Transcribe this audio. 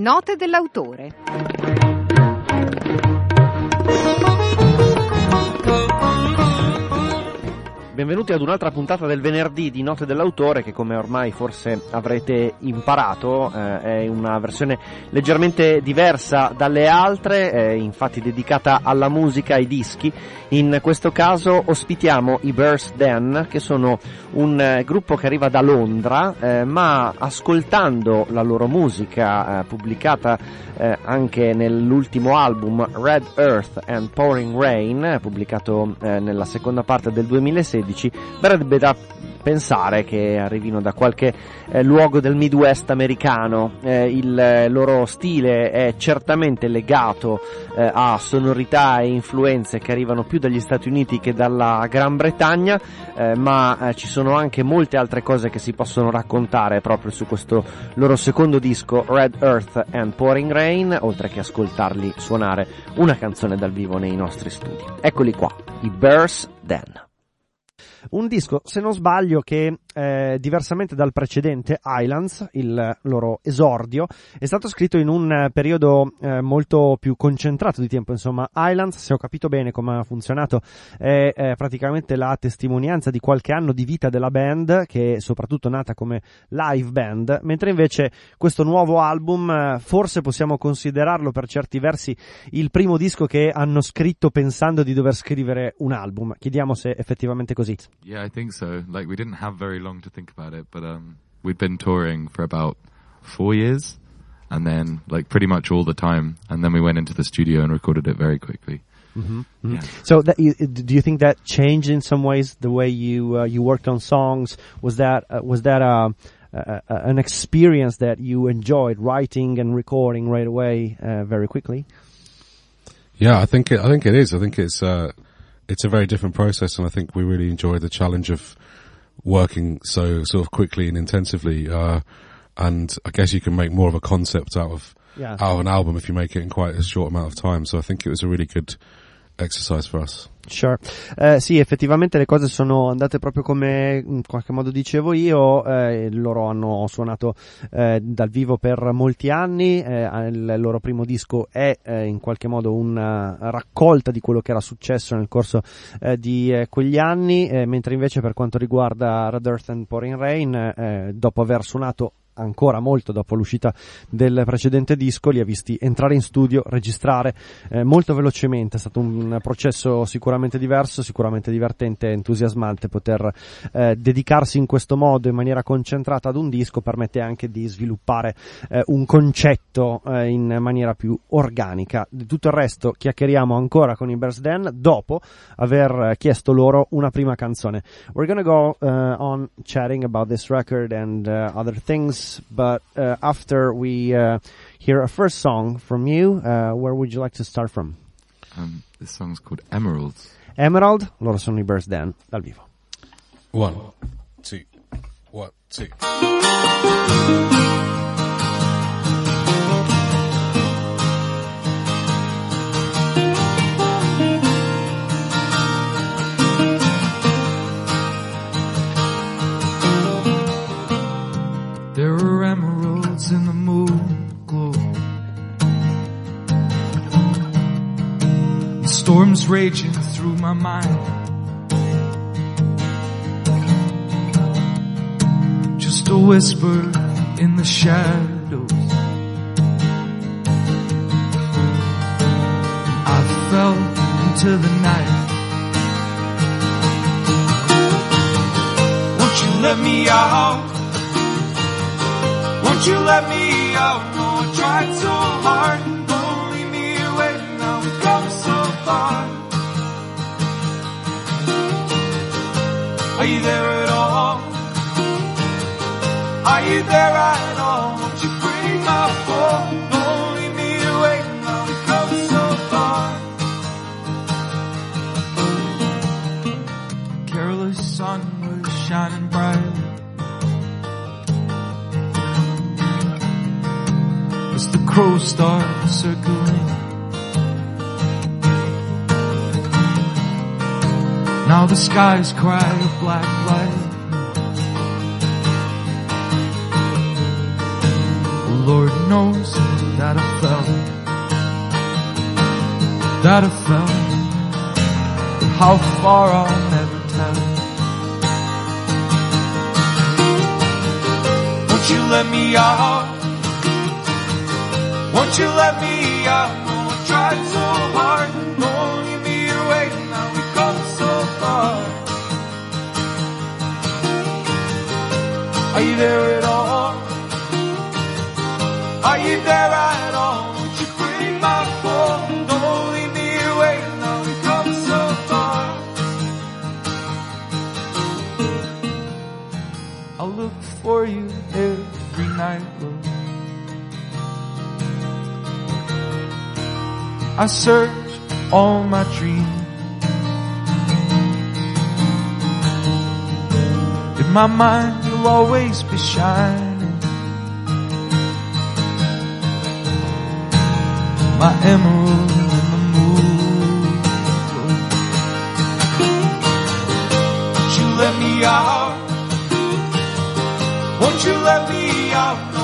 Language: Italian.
Note dell'autore. Benvenuti ad un'altra puntata del venerdì di Note dell'autore, che come ormai forse avrete imparato è una versione leggermente diversa dalle altre, infatti dedicata alla musica, ai dischi. In questo caso ospitiamo i Bears Den, che sono un gruppo che arriva da Londra, ma ascoltando la loro musica pubblicata anche nell'ultimo album Red Earth and Pouring Rain, pubblicato nella seconda parte del 2016, verrebbe da pensare che arrivino da qualche luogo del Midwest americano. Il loro stile è certamente legato a sonorità e influenze che arrivano più dagli Stati Uniti che dalla Gran Bretagna, ma ci sono anche molte altre cose che si possono raccontare proprio su questo loro secondo disco Red Earth and Pouring Rain, oltre che ascoltarli suonare una canzone dal vivo nei nostri studi. Eccoli qua, i Bears Den. Un disco, se non sbaglio, che diversamente dal precedente Islands, il loro esordio, è stato scritto in un periodo molto più concentrato di tempo. Insomma, Islands, se ho capito bene come ha funzionato, è praticamente la testimonianza di qualche anno di vita della band, che è soprattutto nata come live band, mentre invece questo nuovo album forse possiamo considerarlo per certi versi il primo disco che hanno scritto pensando di dover scrivere un album. Chiediamo se effettivamente è così. Yeah, I think so. Like, we didn't have very long to think about it, but we'd been touring for about 4 years, and then like pretty much all the time, and then we went into the studio and recorded it very quickly. Mm-hmm. Mm-hmm. Yeah. So, do you think that changed in some ways the way you worked on songs? Was that an experience that you enjoyed writing and recording right away, very quickly? Yeah, I think it is. I think it's a very different process, and I think we really enjoy the challenge of working so sort of quickly and intensively. And I guess you can make more of a concept out of an album if you make it in quite a short amount of time. So I think it was a really good exercise for us. Sure. Sì, effettivamente le cose sono andate proprio come in qualche modo dicevo io. Loro hanno suonato dal vivo per molti anni. Il loro primo disco è in qualche modo una raccolta di quello che era successo nel corso di quegli anni, mentre invece per quanto riguarda Red Earth and Pouring Rain, dopo aver suonato ancora molto dopo l'uscita del precedente disco, li ha visti entrare in studio, registrare molto velocemente. È stato un processo sicuramente diverso, sicuramente divertente e entusiasmante. Poter dedicarsi in questo modo in maniera concentrata ad un disco permette anche di sviluppare un concetto in maniera più organica. Di tutto il resto chiacchieriamo ancora con i Bears Den dopo aver chiesto loro una prima canzone. We're gonna go on chatting about this record and other things, but after we hear a first song from you, where would you like to start from? This song's called Emeralds. Emerald, loro sono i Bears Den dal vivo. 1, 2, 1, 2. There are emeralds in the moon glow, and storms raging through my mind. Just a whisper in the shadows. I fell into the night. Won't you let me out? Won't you let me out? No, I tried so hard. Don't leave me away. Now we've come so far. Are you there at all? Are you there at all? Won't you break my fall? Don't leave me away. Now we've come so far. The careless sun was shining bright as the crows start circling. Now the skies cry a black light. Lord knows that I felt, that I felt, but how far I'll never tell. Won't you let me out? Won't you let me out? Oh, I tried so hard, don't leave me here waiting, now we've come so far. Are you there at all? Are you there at all? Won't you break my fall? Don't leave me here waiting, now we've come so far. I'll look for you every night, Lord. I search all my dreams. In my mind you'll always be shining, my emerald in the moon. Won't you let me out? Won't you let me out? No,